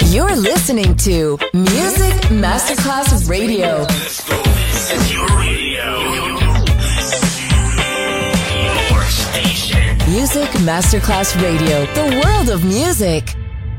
You're listening to Music Masterclass Radio. This is your radio. Your station. Music Masterclass Radio. The world of music.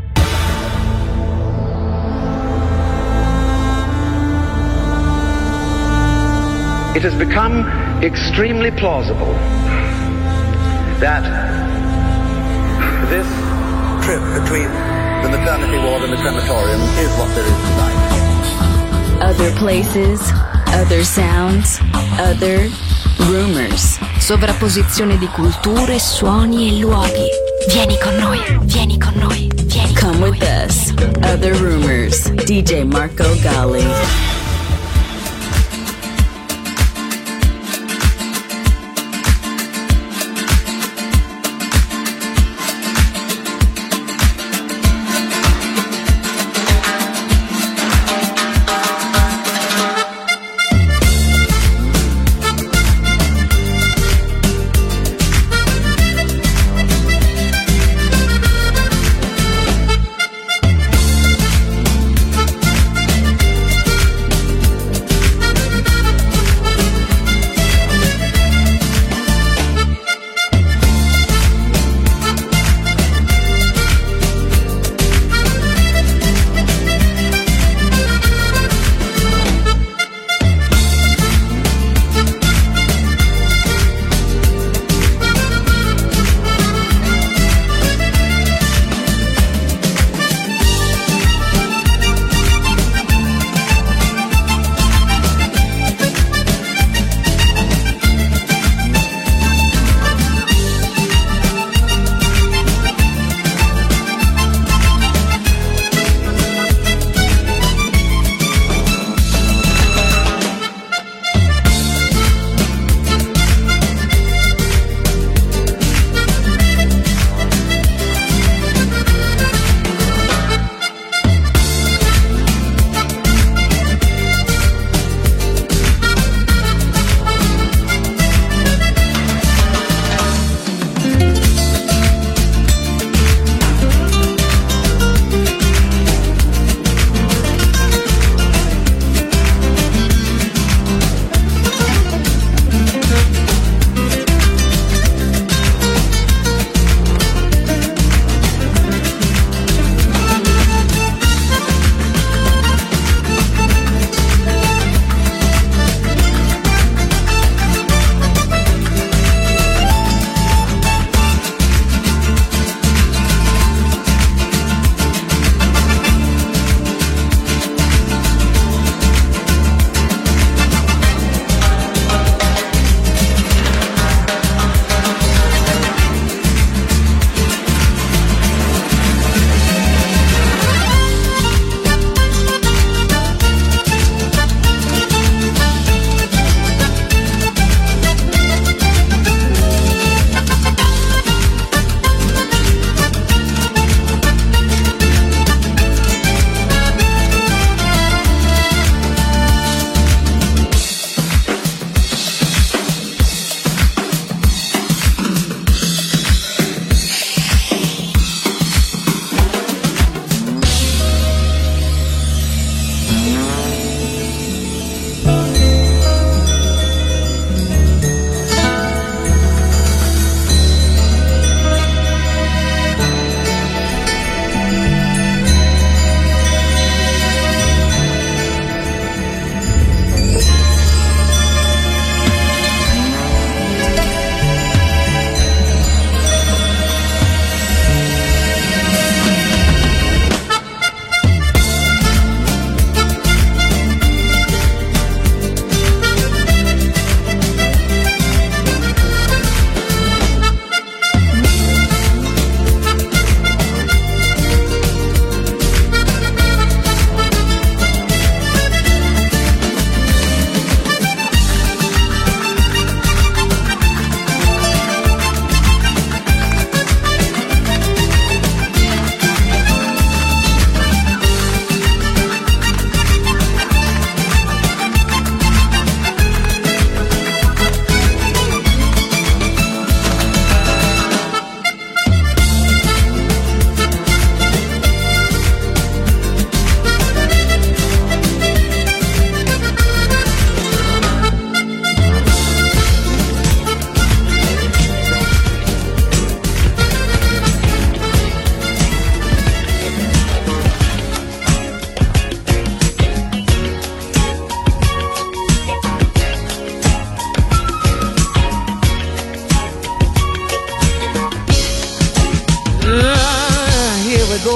It has become extremely plausible that this trip between the maternity ward and the crematorium is what there is tonight. Other places, other sounds, other rumors. Sovrapposizione di culture, suoni e luoghi. Vieni con noi, vieni con noi, vieni con noi. Come with us. Other rumors. DJ Marco Gally.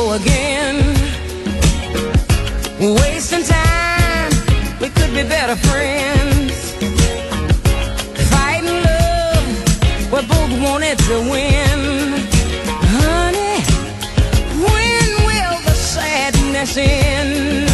go again. Wasting time, we could be better friends. Fighting love, we both wanted to win. Honey, when will the sadness end?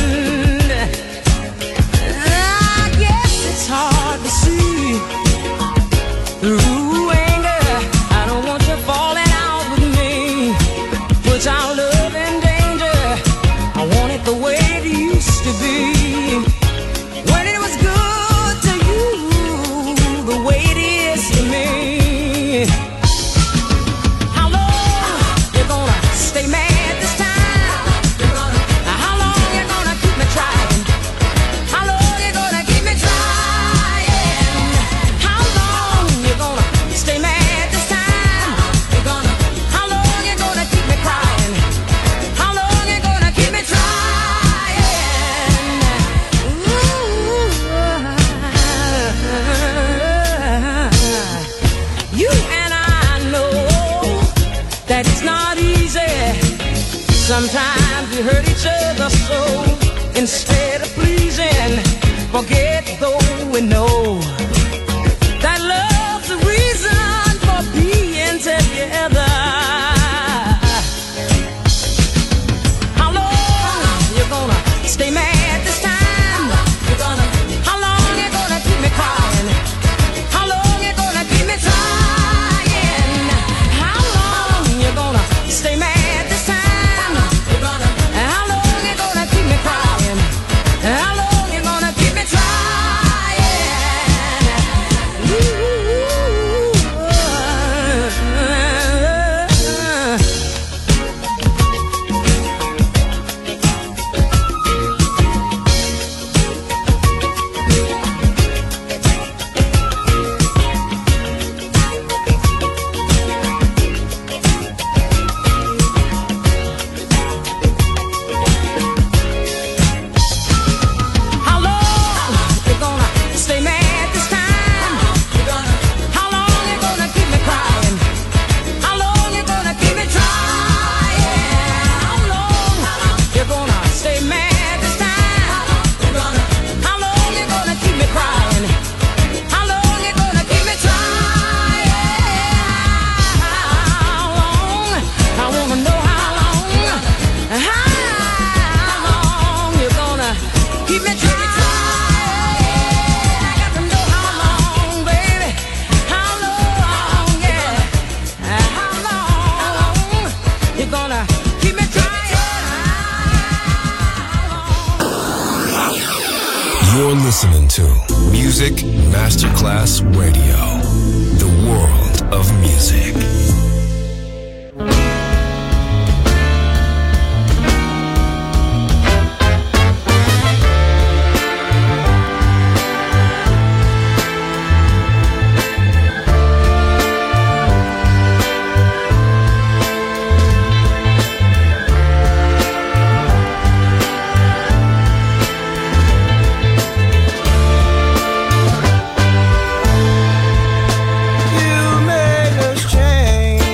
I guess it's hard to see through anger. I don't want you falling out with me. Put our love in danger. I want it the way it used to be. When it was good to you, the way it is to me. How long you gonna stay mad this time? How long you gonna keep me trying? How long you gonna keep me trying? How long you gonna stay mad this time? How long you gonna keep me crying? How long you gonna keep me trying? You and I know that it's not easy. Sometimes we hurt each other so. Instead of pleasing, forget though we know that love's the reason for being together. How long you gonna stay mad this time? How long you gonna keep me crying? How long you gonna keep me trying? How long you gonna stay mad this time? How long you gonna keep me crying? How long you gonna keep me trying? How long you gonna stay mad this time? How long you gonna keep me crying? How long you gonna keep me trying? How long you gonna stay mad this time? How long you gonna keep me crying? How long you gonna keep me trying? How long? I wanna know how long. How long you gonna keep me trying? I got to know how long, baby. How long, yeah. How long you gonna keep me trying? You're listening to Music Masterclass Radio, the world of music. You made us change.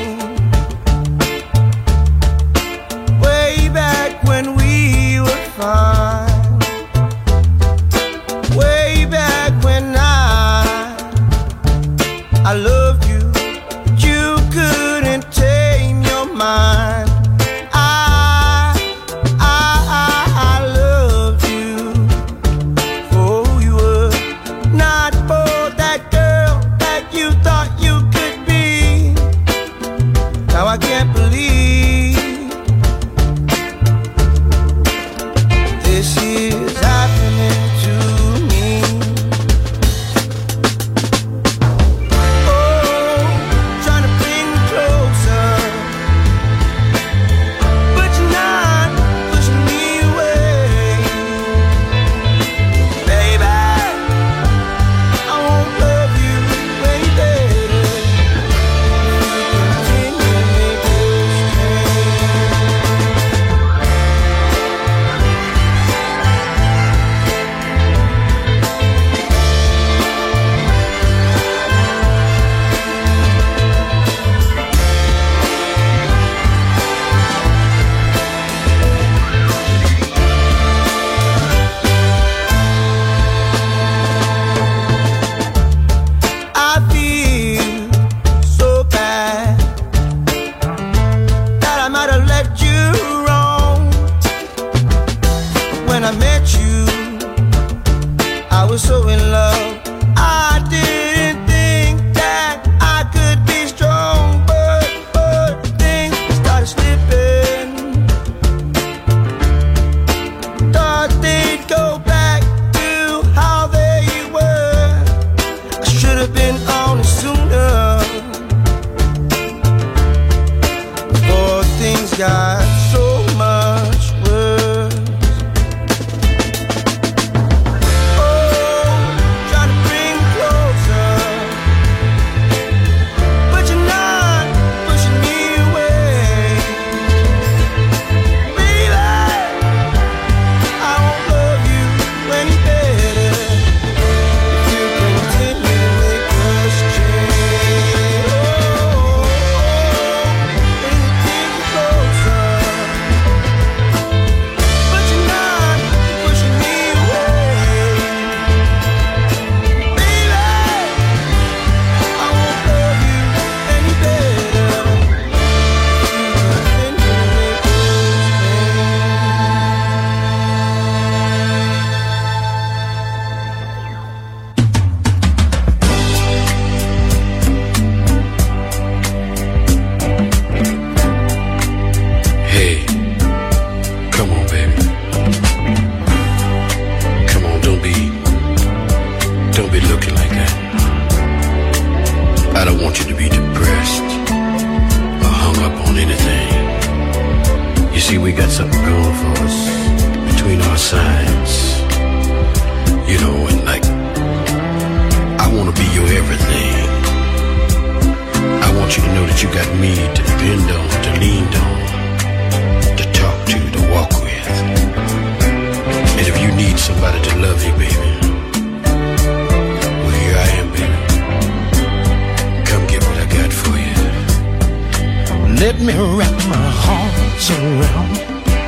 something going for us between our sides. You know, and like, I want to be your everything. I want you to know that you got me to depend on, to lean on, to talk to, to walk with. And if you need somebody to love you, baby, well, here I am, baby. Come get what I got for you. Let me wrap my arms around,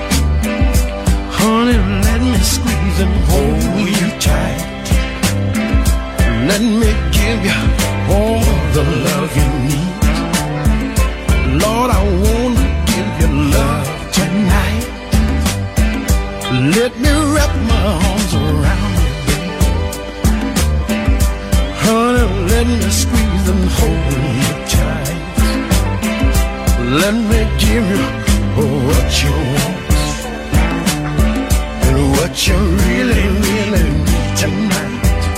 honey, let me squeeze and hold you tight. Let me give you all the love you need. Lord, I want to give you love tonight. Let me wrap my arms around you, baby. Honey, let me squeeze and hold you tight. Let me give you what you want and what you really, really need tonight.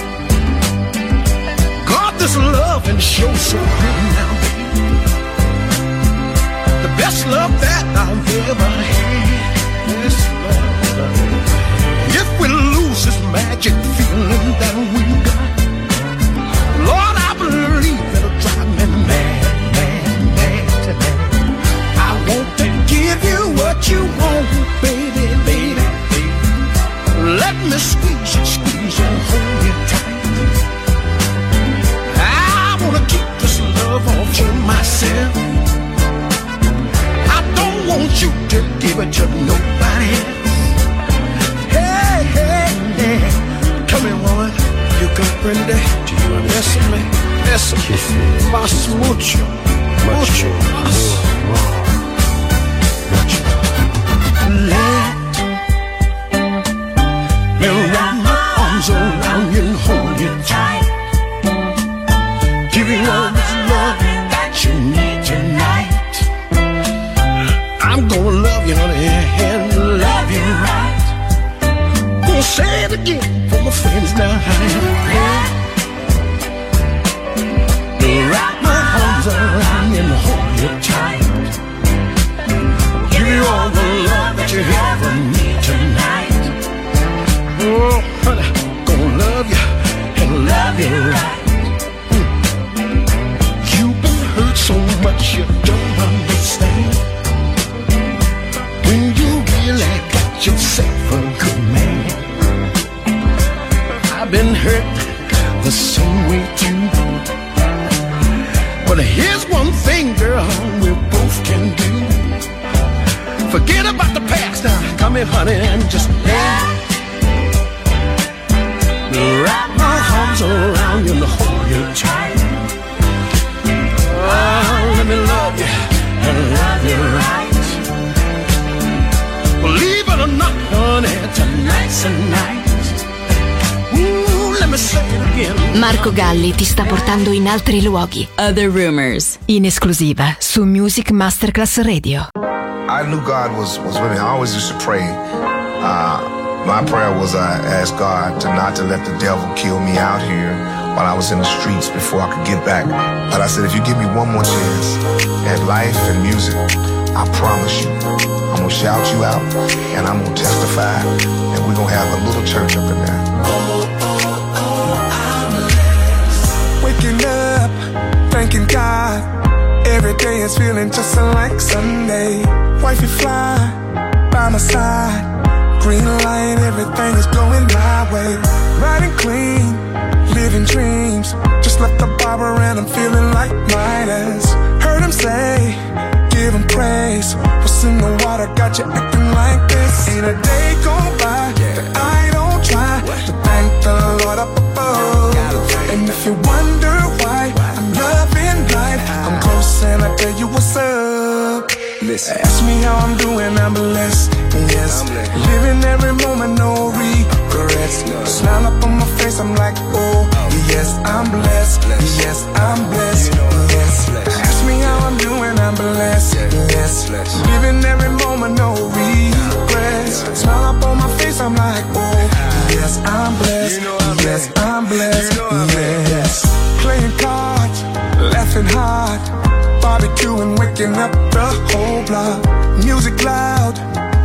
God, this love and show so good now, baby. The best love that I've ever had. This love. If we lose this magic feeling that we got, Lord, I believe it'll drive me mad, mad, mad tonight. I want to give you what you want, baby, baby, baby. Let me squeeze you and hold you tight. I wanna keep this love all for myself. I don't want you to give it to nobody else. Hey, hey, hey. Come here, woman. You comprende? Do you understand me? Eso. Más mucho. Mucho más. Let me wrap my arms around you and hold you tight. Give you all this love that you need tonight. I'm gonna love you, honey, and love you right. Gonna say it again for my friends now. Wrap my arms around you and hold you tight. Give you all the love that you ever need tonight. Oh, honey, gonna love you and love you right. You've been hurt so much you don't understand. When you really got yourself a good man. I've been hurt the same way too. But here's one thing, girl, we both can do. Forget about the past now. Come here, honey, and just wrap my arms around you and hold you tight. Oh, let me love you and love you right. Believe it or not, honey, tonight's the night. Ooh, let me say it again. Marco Galli ti sta portando in altri luoghi. Other Rumors, in esclusiva su Music Masterclass Radio. I knew God was with me. I always used to pray. My prayer was I asked God not to let the devil kill me out here while I was in the streets before I could get back. But I said, if you give me one more chance at life and music, I promise you, I'm going to shout you out and I'm going to testify and we're going to have a little church up in there. Waking up, thanking God. Every day is feeling just like Sunday. Wifey fly by my side. Green light, everything is going my way. Riding clean, living dreams. Just left the barber and I'm feeling like Midas. Heard him say, give him praise. What's in the water got you acting like this? Ain't a day gone by that I don't try to thank the Lord up above. And if you wonder why I'm loving life, I'm close and I tell you what's up. Listen. Ask me how I'm doing, I'm blessed, yes. Living every moment, no regrets. Smile up on my face, I'm like, oh, yes, I'm blessed, yes, I'm blessed, yes. Ask me how I'm doing, I'm blessed, yes. Living every moment, no regrets. Smile up on my face, I'm like, oh, yes, I'm blessed, yes, I'm blessed, yes. Playing cards, laughing hard, barbecuing, waking up the whole block. Music loud,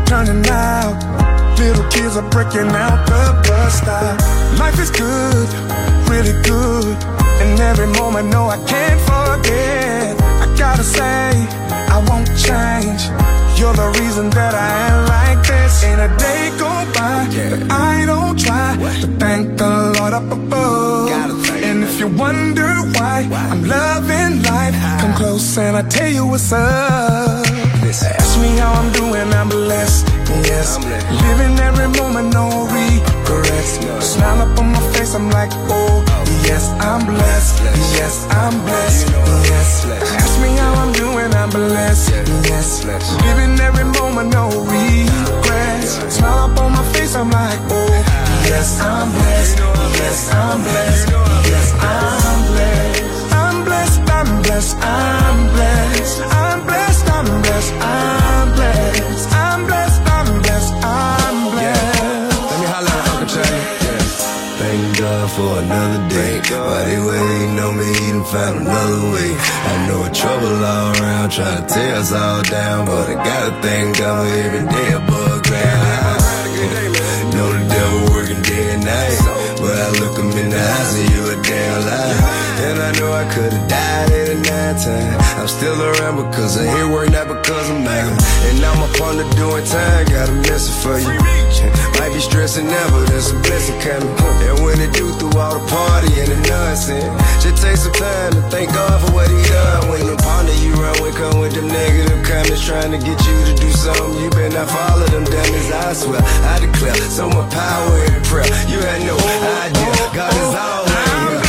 turning out. Little kids are breaking out the bus stop. Life is good, really good. And every moment, no, I can't forget. I gotta say, I won't change. You're the reason that I am like this. Ain't a day go by that I don't try to thank the Lord up above. And if you wonder why I'm loving life, come close and I'll tell you what's up. Ask me how I'm doing, I'm blessed, yes. Living every moment, no regrets. Smile up on my face, I'm like, oh, yes, I'm blessed. Yes, I'm blessed, yes. Ask me how I'm doing, I'm blessed, yes. Living every moment, no regrets. Smile up on my face, I'm like, oh, yes, I'm blessed. Yes, I'm blessed. Yes, I'm blessed. I'm blessed, I'm blessed, I'm blessed. I'm blessed, I'm blessed, I'm blessed. I'm blessed, I'm blessed, I'm blessed. Let me holler at Uncle Charlie. Thank God for another day. While they waiting on me, he done found another way. I know trouble all around, trying to tear us all down, but I gotta thank God for every day above ground. Know the devil working day and night, but I look him in the eyes and you a damn lie. And I know I could've died at a 9 time. I'm still around because I hear work, not because I'm out. And I'm up on the doing time, got a message for you. Might be stressing now, but there's a blessing coming. And when it do through all the party and the nonsense, just take some time to thank God for what he done. When the partner you run with come with them negative comments trying to get you to do something, you better not follow them dummies, I swear. I declare so much power in prayer. You had no idea, God is all in you.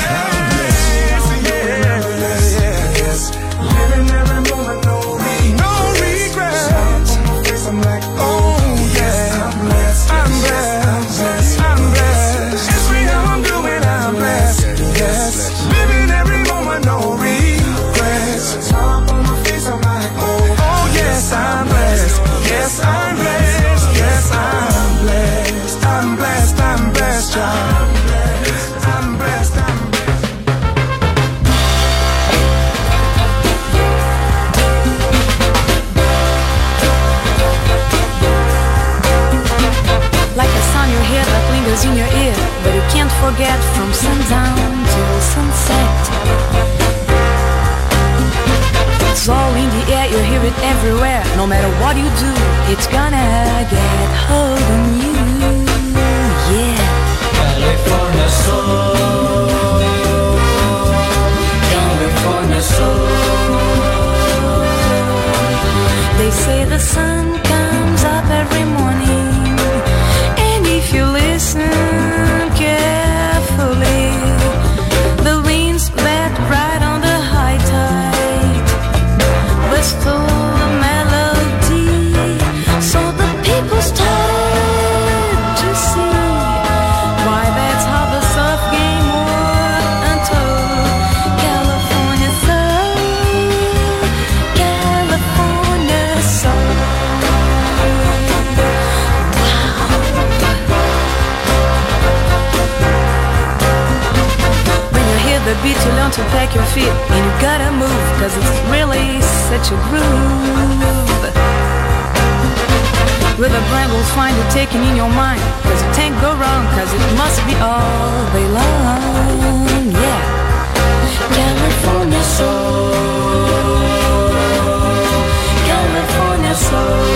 Living every moment, no regrets. On my face, I'm like, oh yeah, I'm blessed. I'm blessed. I'm blessed. Ask me how I'm doing, I'm blessed. Yes. Living every moment, no regrets. Smile on my face, I'm like, oh yes, I'm blessed. Yes, I'm blessed. Yes, I'm blessed. I'm blessed. I'm blessed. I'm blessed. I'm blessed. Like a song you hear that lingers in your ear, but you can't forget from sundown till sunset. It's all in the air, you hear it everywhere. No matter what you do, it's gonna get hold of you. Yeah. California soul, California soul. They say the sun comes up every morning. If you listen carefully, the winds let right on the high tide, but stole the melody. So the people started to see why that's how the surf game worked until California soul, California soul. The beat you learn to pack your feet, and you gotta move, cause it's really such a groove. With a brand will find you taking in your mind, cause you can't go wrong, cause it must be all day long. Yeah. California soul, California soul.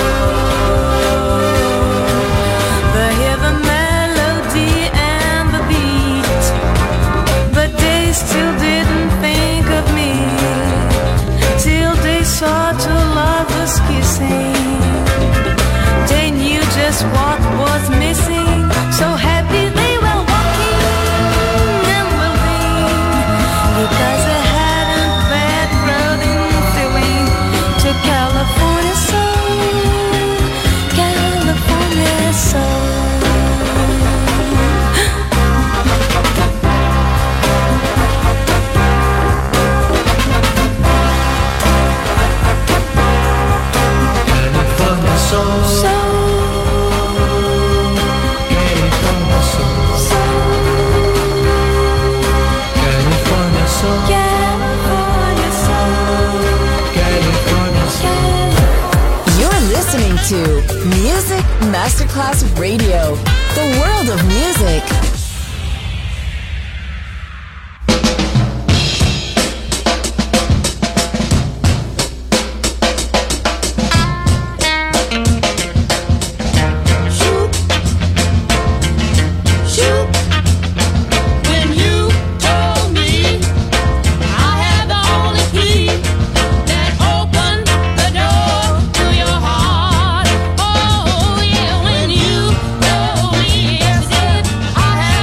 They hear the melody and the beat, but they still didn't think of me till they saw two lovers kissing. They knew just what was missing. So happy they were walking and moving, because they hadn't that crowding feeling. To California soul, California soul. California soul, Masterclass Radio, the world of music. I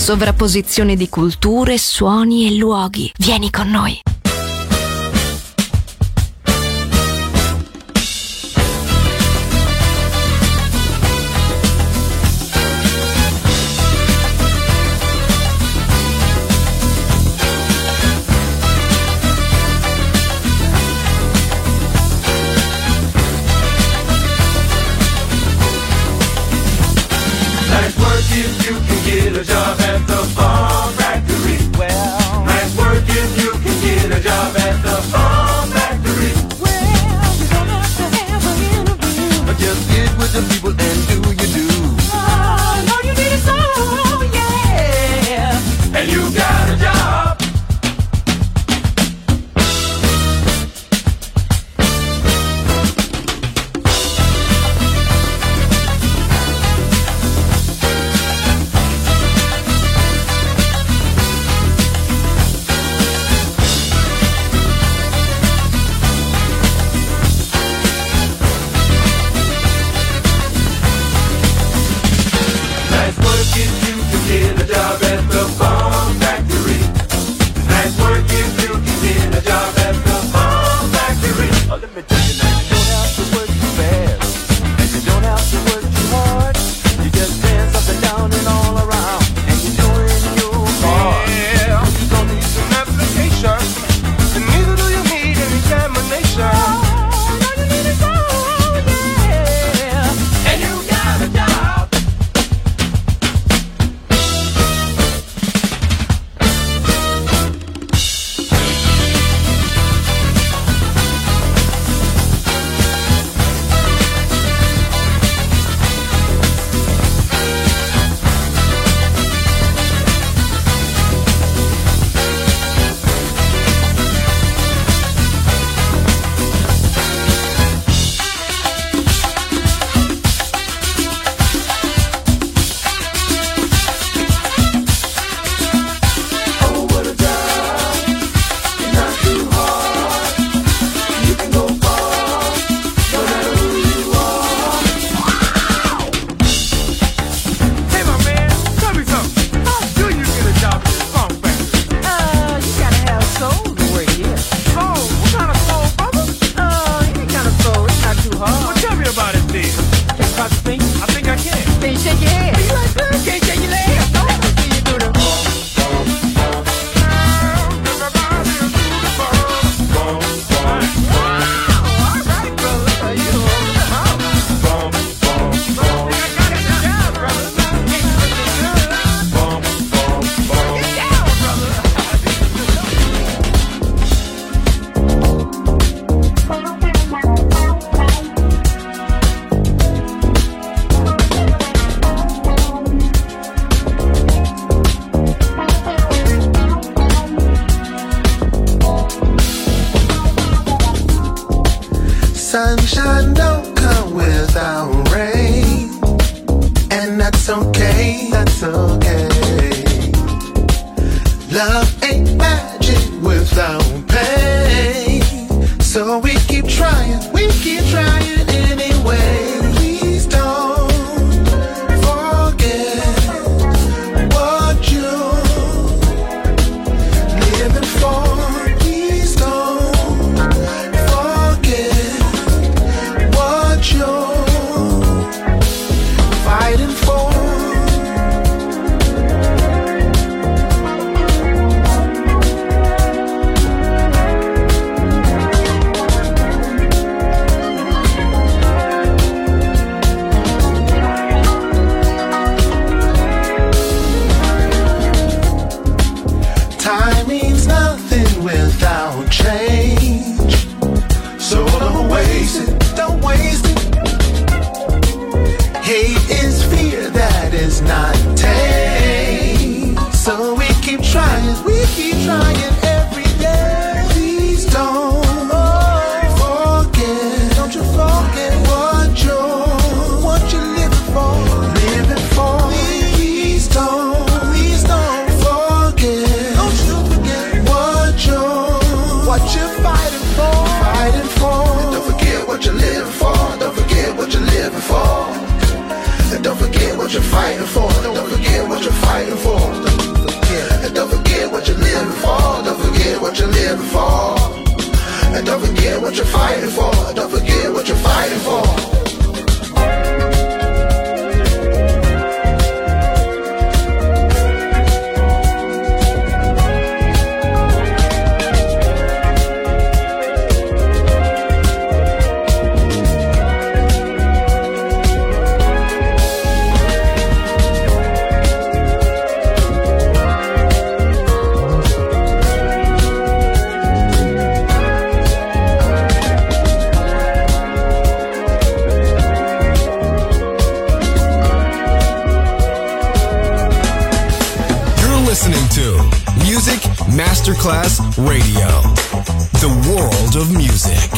Sovrapposizione di culture, suoni e luoghi. Vieni con noi. If you can get a job at the Bomb Factory. Well, nice work if you can get a job at the Bomb Factory. Well, you don't have to have an interview. Just get with the people and do you do. Oh, all you need is all, yeah. And you got a job. Sunshine don't come without rain, and that's okay, that's okay. Love ain't magic without pain, so we keep trying anyway. Please don't forget what you're living for. Please don't forget what you're fighting for. Time means nothing without change, so don't waste it, don't waste it. Hate is fear that is not tame, so we keep trying every day. Please don't forget, don't you forget what you're living for, living for. Please don't forget, don't you forget what you're fighting for, fighting for. Don't forget what you're living for, don't forget what you're living for. And don't forget what you're fighting for, don't forget what you're fighting for. what you're fighting for. Don't forget what you're fighting for. Masterclass Radio, the world of music.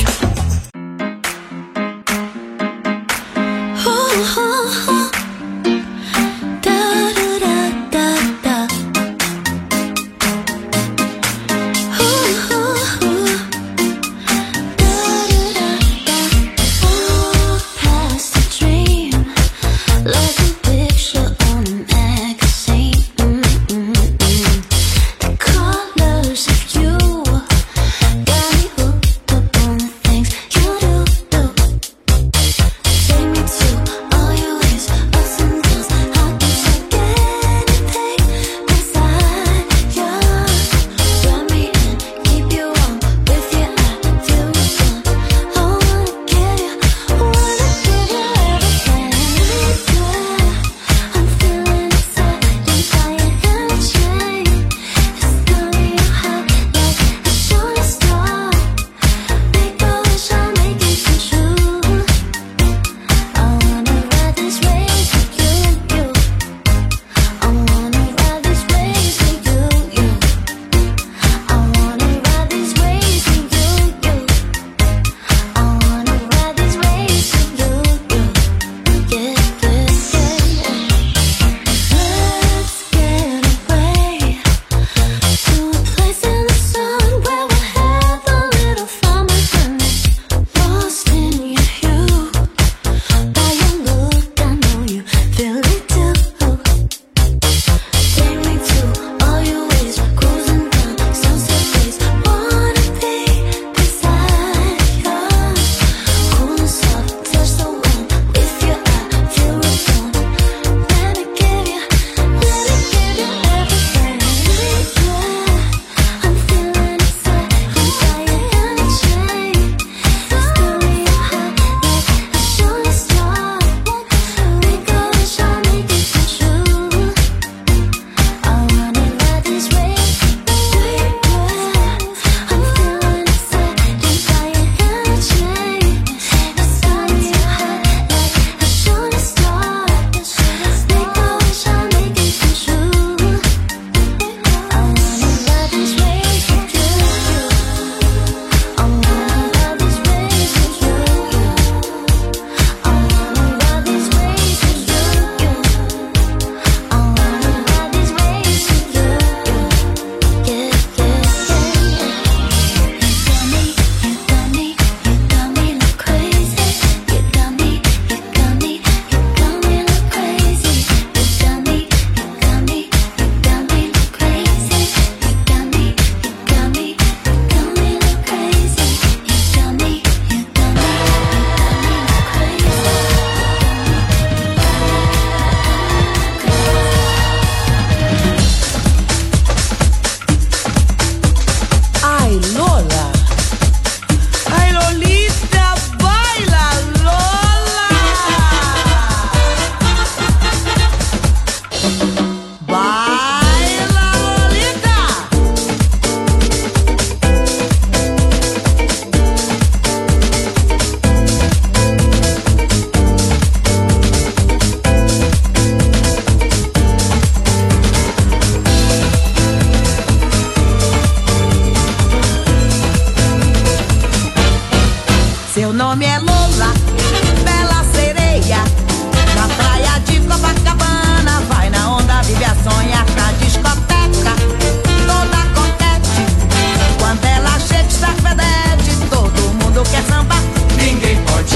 nome é Lola, bela sereia. Na praia de Copacabana, vai na onda, vive a sonhar na discoteca, toda coquete. Quando ela chega está fedete, todo mundo quer sambar. Ninguém pode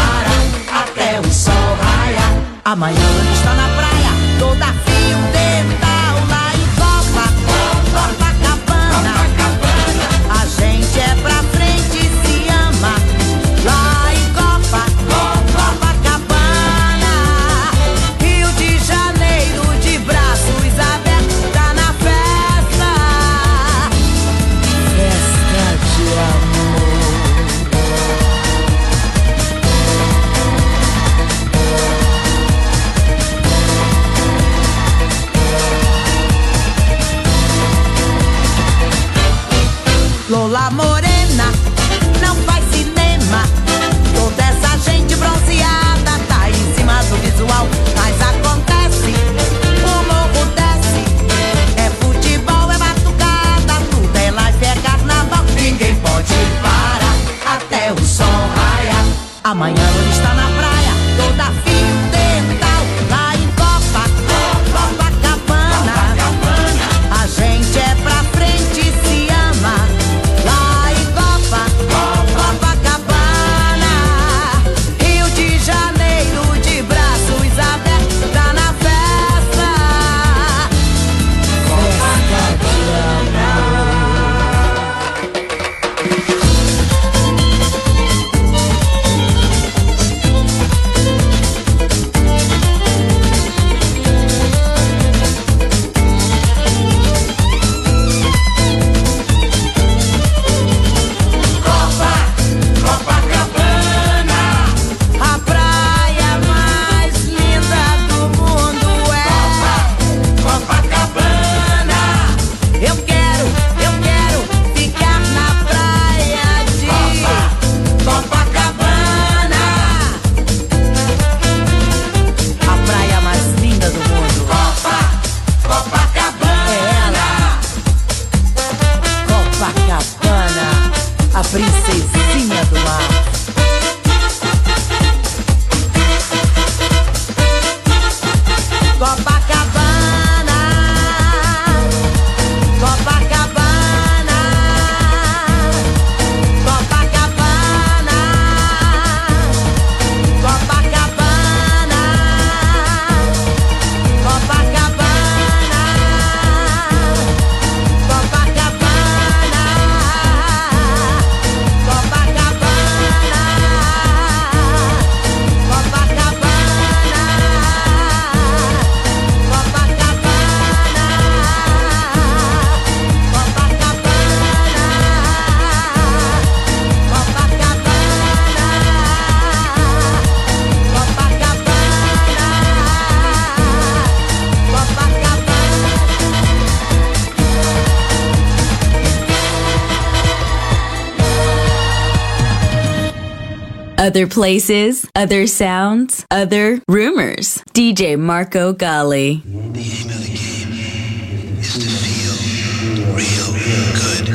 parar até o sol raiar. Amanhã está na praia, toda fio dental lá em Copacabana. A gente é pra frente, se ama Amanhã eu estou na praia, toda fio dental, lá em Copacabana. A gente é pra frente e se ama, lá em Copacabana. Rio de Janeiro, de braços abertos, tá na festa. Festa de amor. Princesinha do mar. Copacabana, Copacabana, Copacabana, Copacabana, Copacabana, Other places, other sounds, other rumors. DJ Marco Gally. The aim of the game is to feel real good.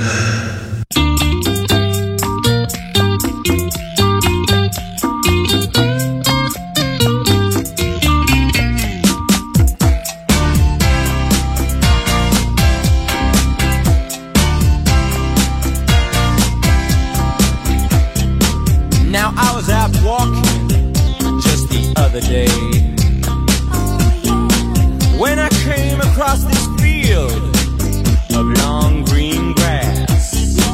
Now I was out walking just the other day when I came across this field of long green grass.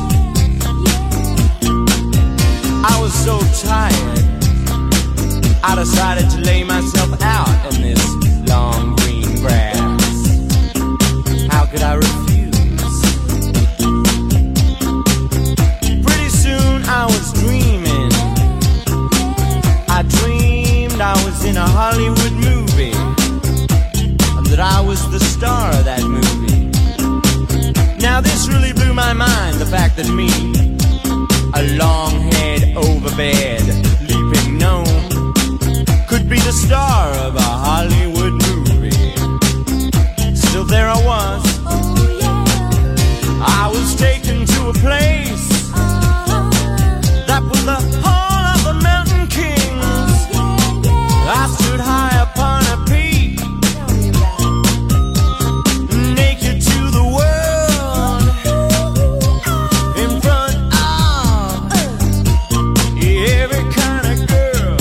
I was so tired, I decided to lay myself out in this long green grass. How could I refuse? Pretty soon I was dreaming. I dreamed I was in a Hollywood movie, and that I was the star of that movie. Now this really blew my mind, the fact that me, a long-haired, overbed, leaping gnome, could be the star of a Hollywood movie. Still there I was. I was taken to a place that was the hall of the mountain kings. I stood high upon a peak, naked to the world, in front of every kind of girl.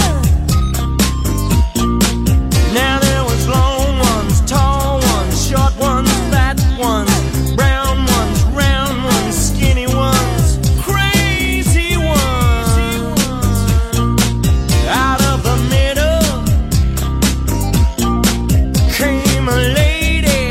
Now there was long ones, tall ones, short ones, fat ones, brown ones, round ones, skinny ones, crazy ones. Out of the middle came a lady.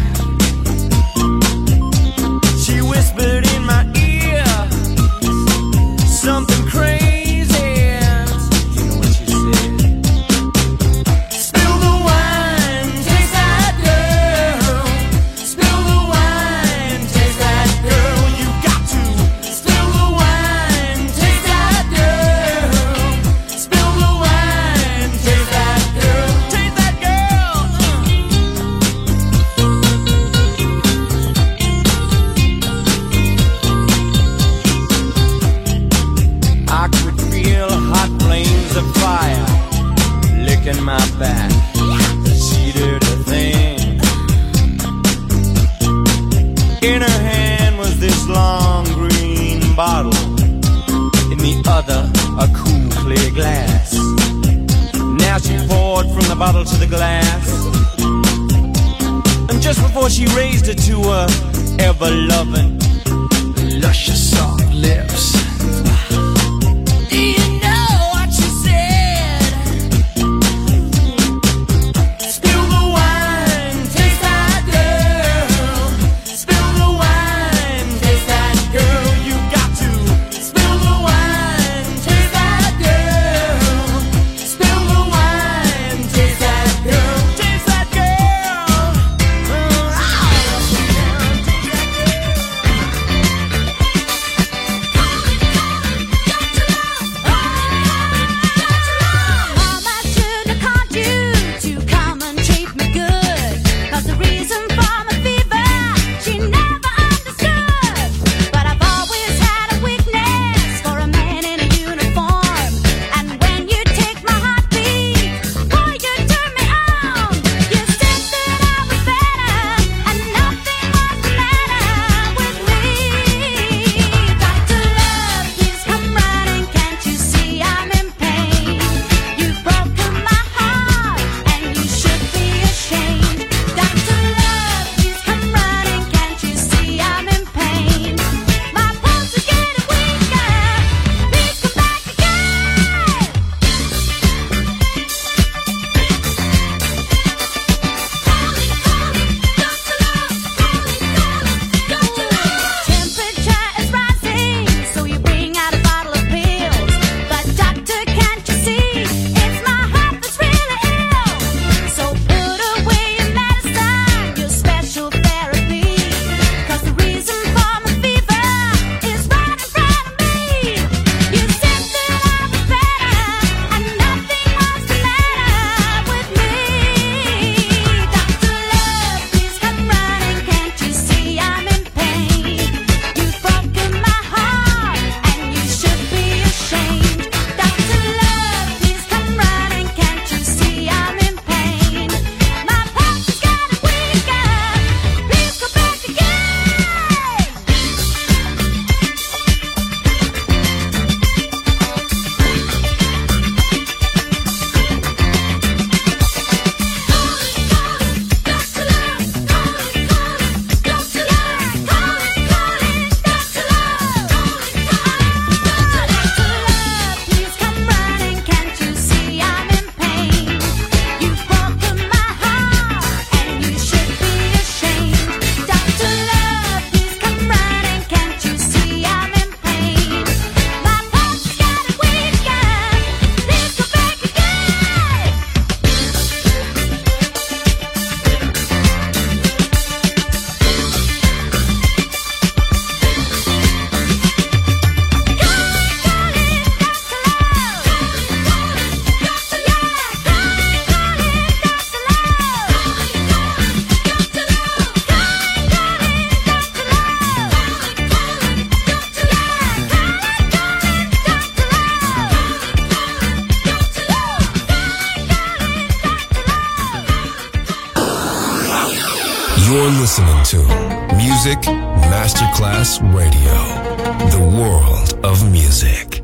She whispered in my ear something crazy. You know what she said? Spill the wine, taste that girl. Spill the wine, taste that girl. You got to spill the wine, taste that girl. Spill the wine, taste that girl. Taste that girl. I could feel hot flames breaking my back. She did a thing. In her hand was this long green bottle. In the other, a cool clear glass. Now she poured from the bottle to the glass. And just before she raised it to her ever-loving, luscious soft lips, do you know what she said? Spill the wine, taste that girl. Spill the wine, taste that girl. You got to spill the wine, taste that girl. Spill the wine, taste that girl. Taste that girl. You're listening to Music Masterclass Radio, the world of music.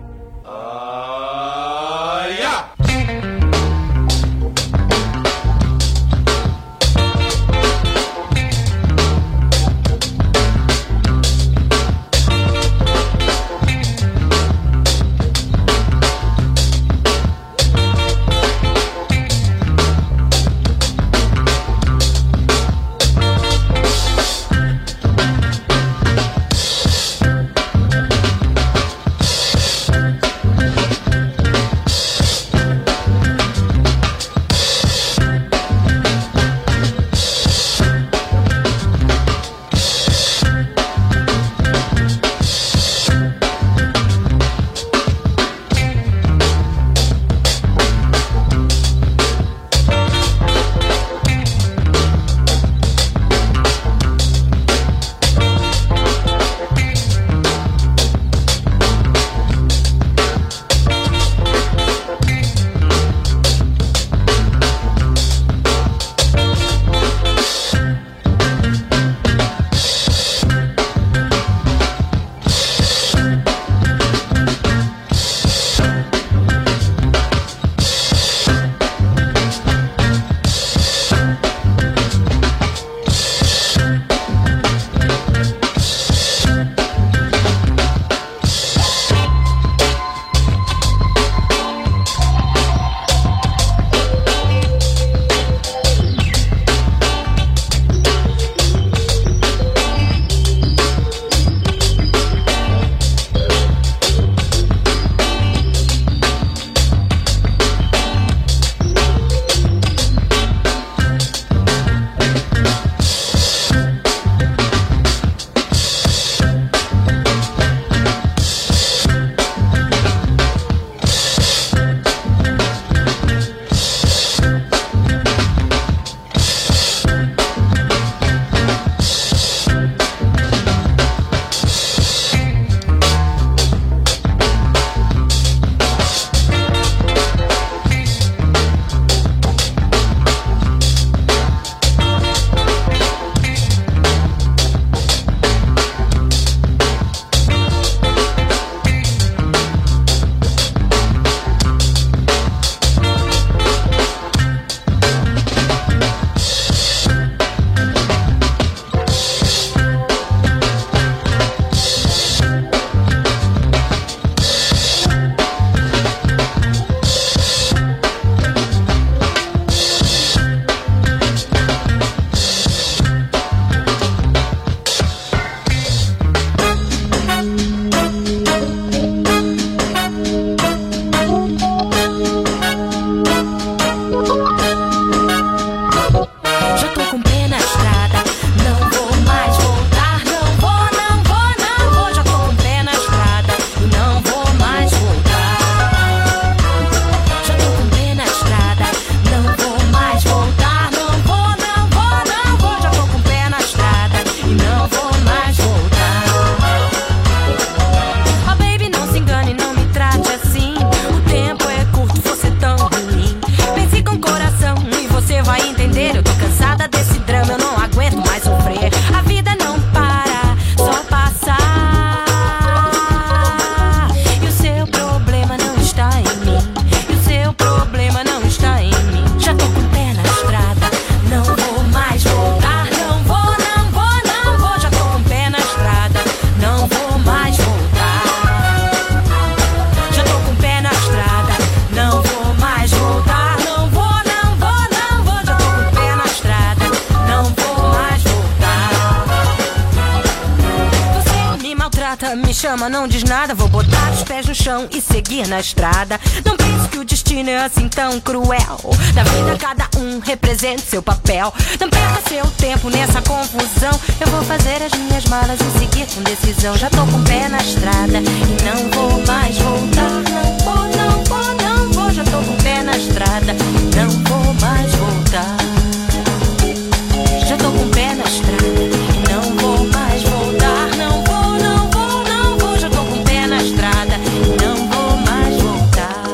me chama, não diz nada. Vou botar os pés no chão e seguir na estrada. Não pense que o destino é assim tão cruel. Da vida cada um representa seu papel. Não perca seu tempo nessa confusão. Eu vou fazer as minhas malas e seguir com decisão. Já tô com o pé na estrada e não vou mais voltar. Não vou, não vou, não vou. Já tô com o pé na estrada, não vou mais voltar. Já tô com o pé na estrada e não vou mais voltar. Não vou, não vou, não vou. Já tô com o pé na estrada e não vou mais voltar.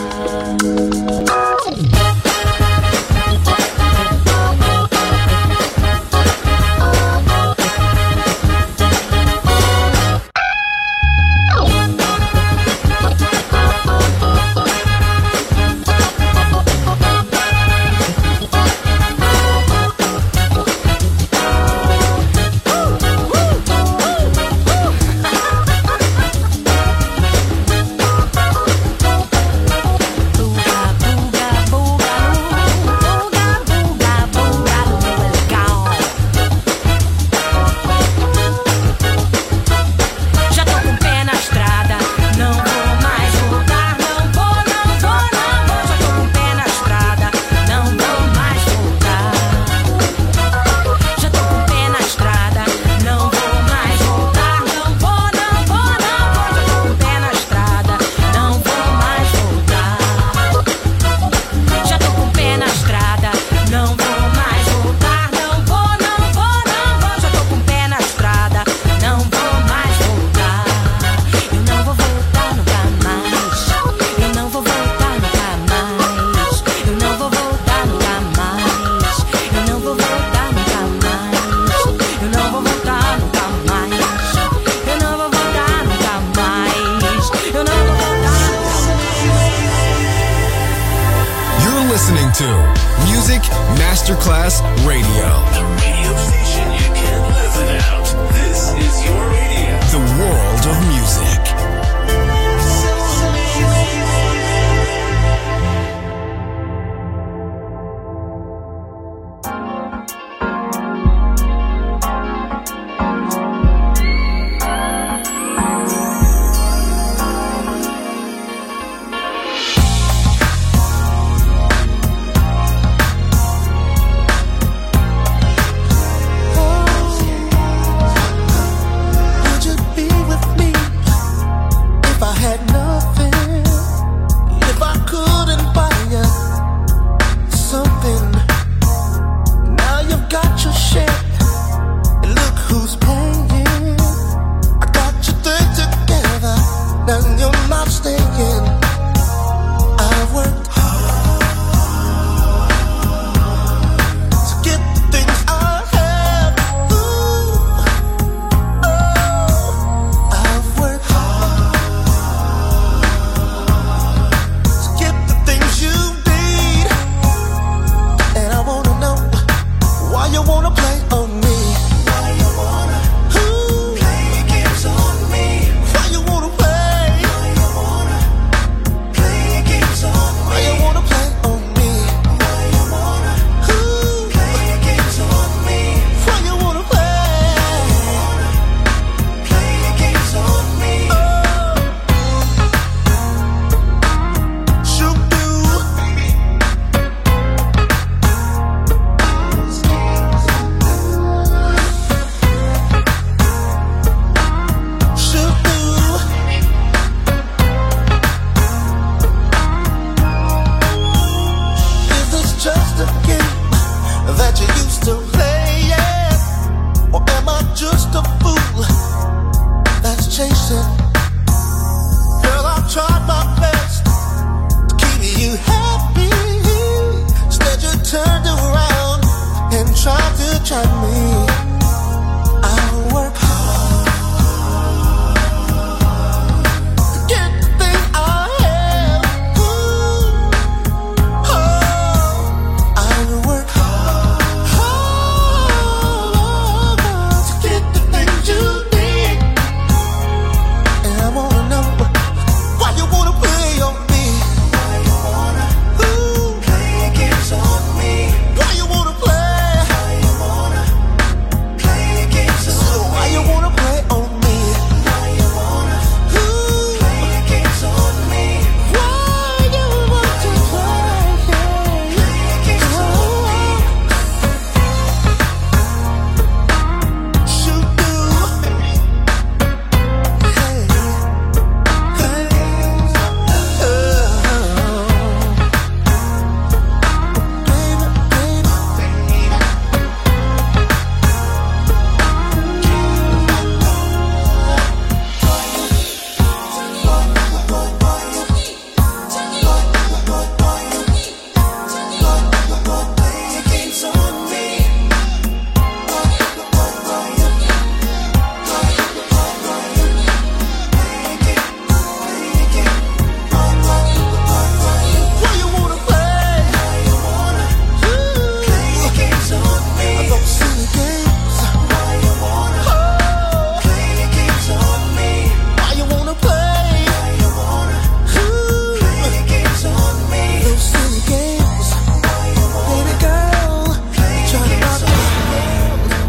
Listening to Music Masterclass Radio. The radio station you can't live without. This is your radio. The world of music.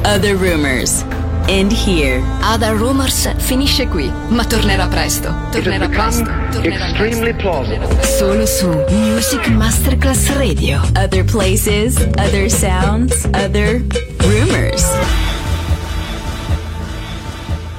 Other Rumors. End here. Other Rumors finisce qui, ma tornerà presto. Tornerà presto. Extremely plausible. Solo su Music Masterclass Radio. Other places, other sounds, other rumors.